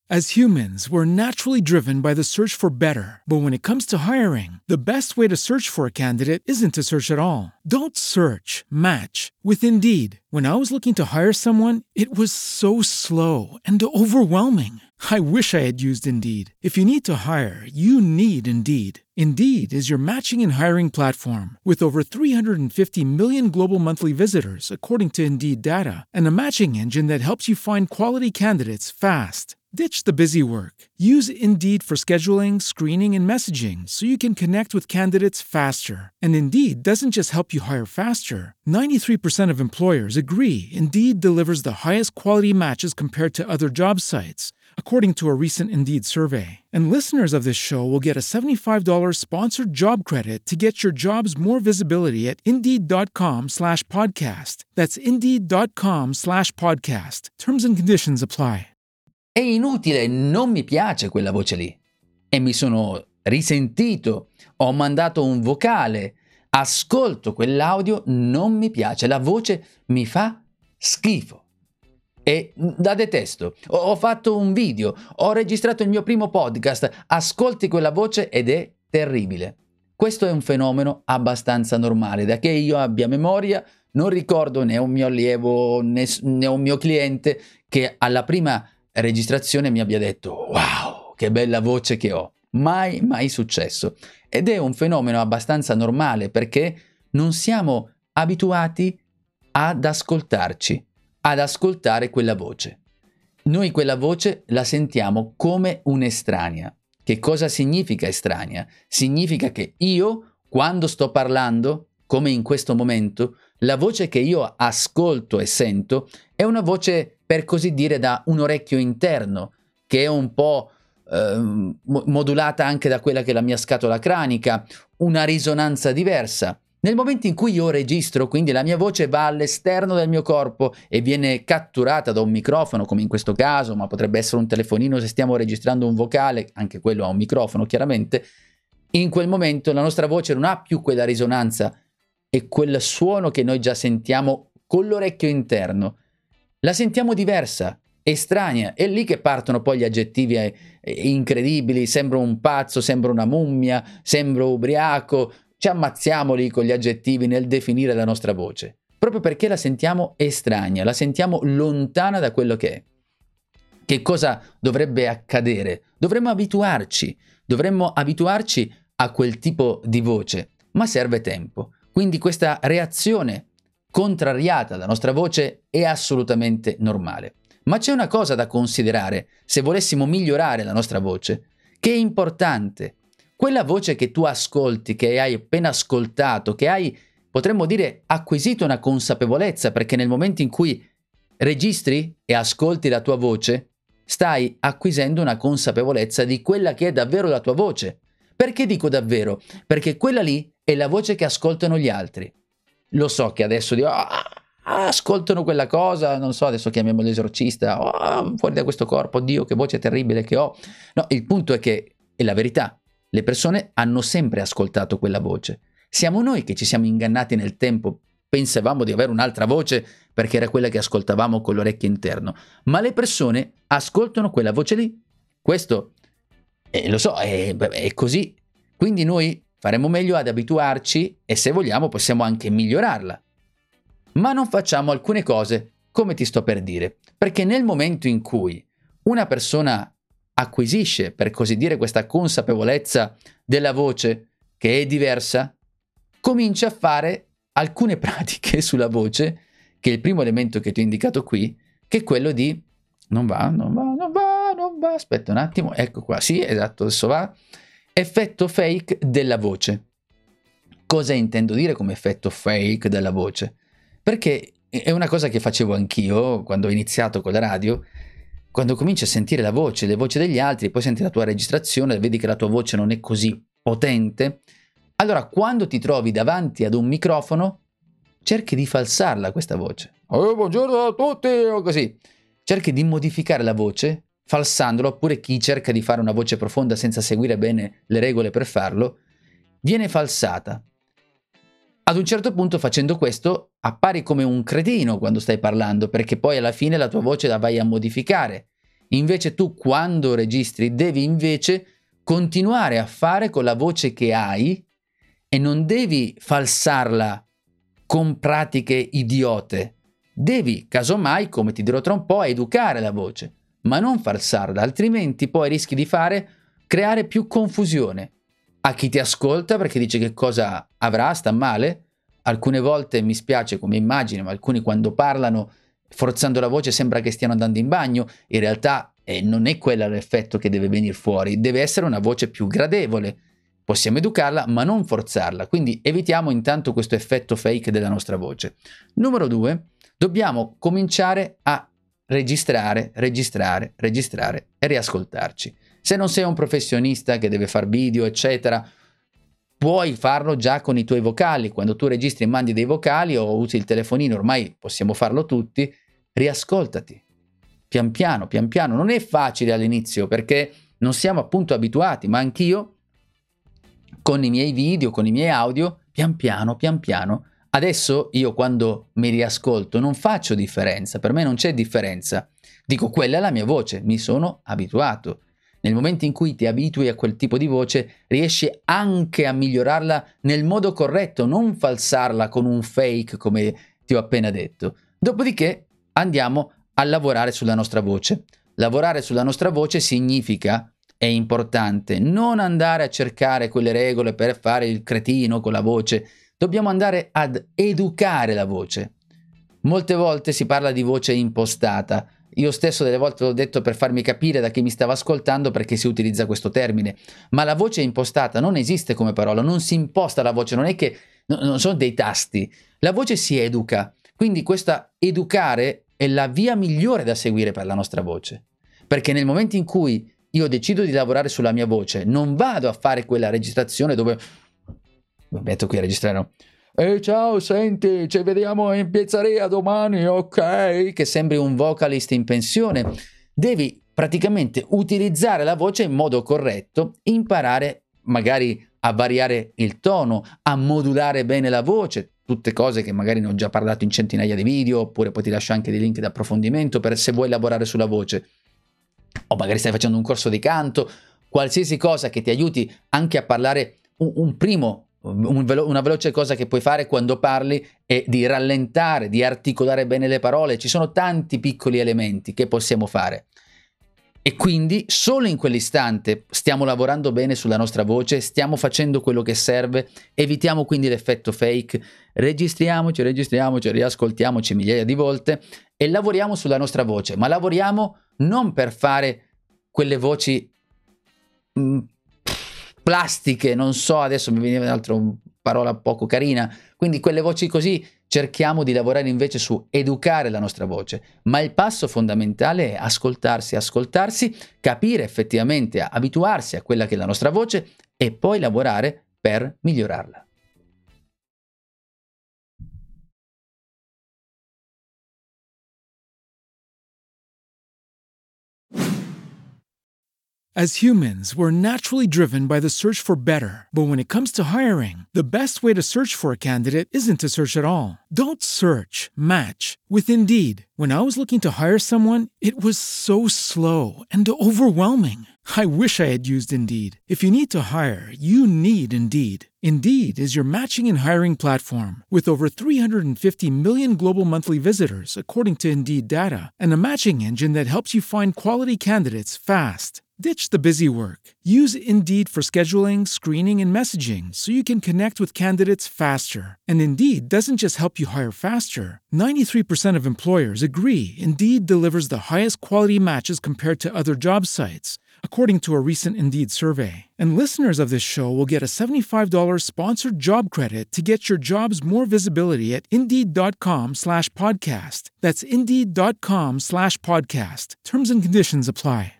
As humans, we're naturally driven by the search for better. But when it comes to hiring, the best way to search for a candidate isn't to search at all. Don't search, match with Indeed. When I was looking to hire someone, it was so slow and overwhelming. I wish I had used Indeed. If you need to hire, you need Indeed. Indeed is your matching and hiring platform with over 350 million global monthly visitors, according to Indeed data, and a matching engine that helps you find quality candidates fast. Ditch the busy work. Use Indeed for scheduling, screening, and messaging so you can connect with candidates faster. And Indeed doesn't just help you hire faster. 93% of employers agree Indeed delivers the highest quality matches compared to other job sites, according to a recent Indeed survey. And listeners of this show will get a $75 sponsored job credit to get your jobs more visibility at Indeed.com/podcast. That's Indeed.com/podcast. Terms and conditions apply. È inutile, non mi piace quella voce lì. E mi sono risentito, ho mandato un vocale, ascolto quell'audio, non mi piace, la voce mi fa schifo. E la detesto. Ho fatto un video, ho registrato il mio primo podcast, ascolti quella voce ed è terribile. Questo è un fenomeno abbastanza normale, da che io abbia memoria, non ricordo né un mio allievo né un mio cliente che alla prima registrazione mi abbia detto wow, che bella voce che ho. Mai successo. Ed è un fenomeno abbastanza normale perché non siamo abituati ad ascoltarci, ad ascoltare quella voce. Noi quella voce la sentiamo come un'estranea. Che cosa significa estranea? Significa che io, quando sto parlando, come in questo momento, la voce che io ascolto e sento è una voce, per così dire, da un orecchio interno, che è un po' modulata anche da quella che è la mia scatola cranica, una risonanza diversa. Nel momento in cui io registro, quindi la mia voce va all'esterno del mio corpo e viene catturata da un microfono, come in questo caso, ma potrebbe essere un telefonino se stiamo registrando un vocale, anche quello ha un microfono chiaramente, in quel momento la nostra voce non ha più quella risonanza e quel suono che noi già sentiamo con l'orecchio interno. La sentiamo diversa, estranea, è lì che partono poi gli aggettivi incredibili, sembro un pazzo, sembro una mummia, sembro ubriaco, ci ammazziamo lì con gli aggettivi nel definire la nostra voce, proprio perché la sentiamo estranea, la sentiamo lontana da quello che è. Che cosa dovrebbe accadere? Dovremmo abituarci a quel tipo di voce, ma serve tempo. Quindi questa reazione contrariata alla nostra voce è assolutamente normale. Ma c'è una cosa da considerare se volessimo migliorare la nostra voce, che è importante. Quella voce che tu ascolti, che hai appena ascoltato, che hai, potremmo dire, acquisito una consapevolezza, perché nel momento in cui registri e ascolti la tua voce, stai acquisendo una consapevolezza di quella che è davvero la tua voce. Perché dico davvero? Perché quella lì è la voce che ascoltano gli altri. Lo so che adesso dico, ascoltano quella cosa, non so, adesso chiamiamo l'esorcista, fuori da questo corpo, Dio, che voce terribile che ho. No, il punto è che è la verità. Le persone hanno sempre ascoltato quella voce. Siamo noi che ci siamo ingannati nel tempo, pensavamo di avere un'altra voce perché era quella che ascoltavamo con l'orecchio interno, ma le persone ascoltano quella voce lì. Questo, lo so, è così. Quindi noi faremo meglio ad abituarci e se vogliamo possiamo anche migliorarla. Ma non facciamo alcune cose come ti sto per dire, perché nel momento in cui una persona acquisisce, per così dire, questa consapevolezza della voce che è diversa, comincia a fare alcune pratiche sulla voce, che è il primo elemento che ti ho indicato qui, che è quello di non va, aspetta un attimo, ecco qua, sì, esatto, adesso va, effetto fake della voce. Cosa intendo dire come effetto fake della voce? Perché è una cosa che facevo anch'io quando ho iniziato con la radio. Quando cominci a sentire la voce, le voci degli altri, poi senti la tua registrazione, vedi che la tua voce non è così potente, allora quando ti trovi davanti ad un microfono, cerchi di falsarla questa voce. Buongiorno a tutti, o così. Cerchi di modificare la voce, falsandola, oppure chi cerca di fare una voce profonda senza seguire bene le regole per farlo, viene falsata. Ad un certo punto, facendo questo, appari come un cretino quando stai parlando, perché poi alla fine la tua voce la vai a modificare. Invece tu quando registri devi invece continuare a fare con la voce che hai e non devi falsarla con pratiche idiote. Devi, casomai, come ti dirò tra un po', educare la voce, ma non falsarla, altrimenti poi rischi di creare più confusione a chi ti ascolta perché dice che cosa avrà, sta male. Alcune volte mi spiace come immagine, ma alcuni quando parlano forzando la voce sembra che stiano andando in bagno, in realtà non è quello l'effetto che deve venire fuori, deve essere una voce più gradevole. Possiamo educarla ma non forzarla, quindi evitiamo intanto questo effetto fake della nostra voce. Numero 2, dobbiamo cominciare a registrare e riascoltarci. Se non sei un professionista che deve fare video, eccetera, puoi farlo già con i tuoi vocali. Quando tu registri e mandi dei vocali o usi il telefonino, ormai possiamo farlo tutti, riascoltati. Pian piano. Non è facile all'inizio perché non siamo appunto abituati, ma anch'io con i miei video, con i miei audio, pian piano. Adesso io quando mi riascolto non faccio differenza, per me non c'è differenza. Dico, quella è la mia voce, mi sono abituato. Nel momento in cui ti abitui a quel tipo di voce, riesci anche a migliorarla nel modo corretto, non falsarla con un fake come ti ho appena detto. Dopodiché andiamo a lavorare sulla nostra voce. Lavorare sulla nostra voce significa, è importante, non andare a cercare quelle regole per fare il cretino con la voce. Dobbiamo andare ad educare la voce. Molte volte si parla di voce impostata. Io stesso delle volte l'ho detto per farmi capire da chi mi stava ascoltando perché si utilizza questo termine. Ma la voce impostata non esiste come parola, non si imposta la voce, non è che non sono dei tasti. La voce si educa. Quindi questa educare è la via migliore da seguire per la nostra voce. Perché nel momento in cui io decido di lavorare sulla mia voce, non vado a fare quella registrazione dove mi metto qui a registrare, no? Ciao, senti, ci vediamo in pizzeria domani, ok? Che sembri un vocalist in pensione. Devi praticamente utilizzare la voce in modo corretto, imparare magari a variare il tono, a modulare bene la voce, tutte cose che magari ne ho già parlato in centinaia di video, oppure poi ti lascio anche dei link di approfondimento per se vuoi lavorare sulla voce. O magari stai facendo un corso di canto, qualsiasi cosa che ti aiuti anche a parlare una veloce cosa che puoi fare quando parli è di rallentare, di articolare bene le parole. Ci sono tanti piccoli elementi che possiamo fare e quindi solo in quell'istante stiamo lavorando bene sulla nostra voce, stiamo facendo quello che serve, evitiamo quindi l'effetto fake, registriamoci, riascoltiamoci migliaia di volte e lavoriamo sulla nostra voce, ma lavoriamo non per fare quelle voci plastiche, non so, adesso mi viene un'altra parola poco carina, quindi quelle voci così. Cerchiamo di lavorare invece su educare la nostra voce, ma il passo fondamentale è ascoltarsi, capire effettivamente, abituarsi a quella che è la nostra voce e poi lavorare per migliorarla. As humans, we're naturally driven by the search for better. But when it comes to hiring, the best way to search for a candidate isn't to search at all. Don't search, match with Indeed. When I was looking to hire someone, it was so slow and overwhelming. I wish I had used Indeed. If you need to hire, you need Indeed. Indeed is your matching and hiring platform with over 350 million global monthly visitors, according to Indeed data, and a matching engine that helps you find quality candidates fast. Ditch the busy work. Use Indeed for scheduling, screening, and messaging so you can connect with candidates faster. And Indeed doesn't just help you hire faster. 93% of employers agree Indeed delivers the highest quality matches compared to other job sites, according to a recent Indeed survey. And listeners of this show will get a $75 sponsored job credit to get your jobs more visibility at Indeed.com/podcast. That's Indeed.com/podcast. Terms and conditions apply.